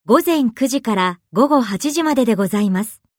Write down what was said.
午前9時から午後8時まででございます。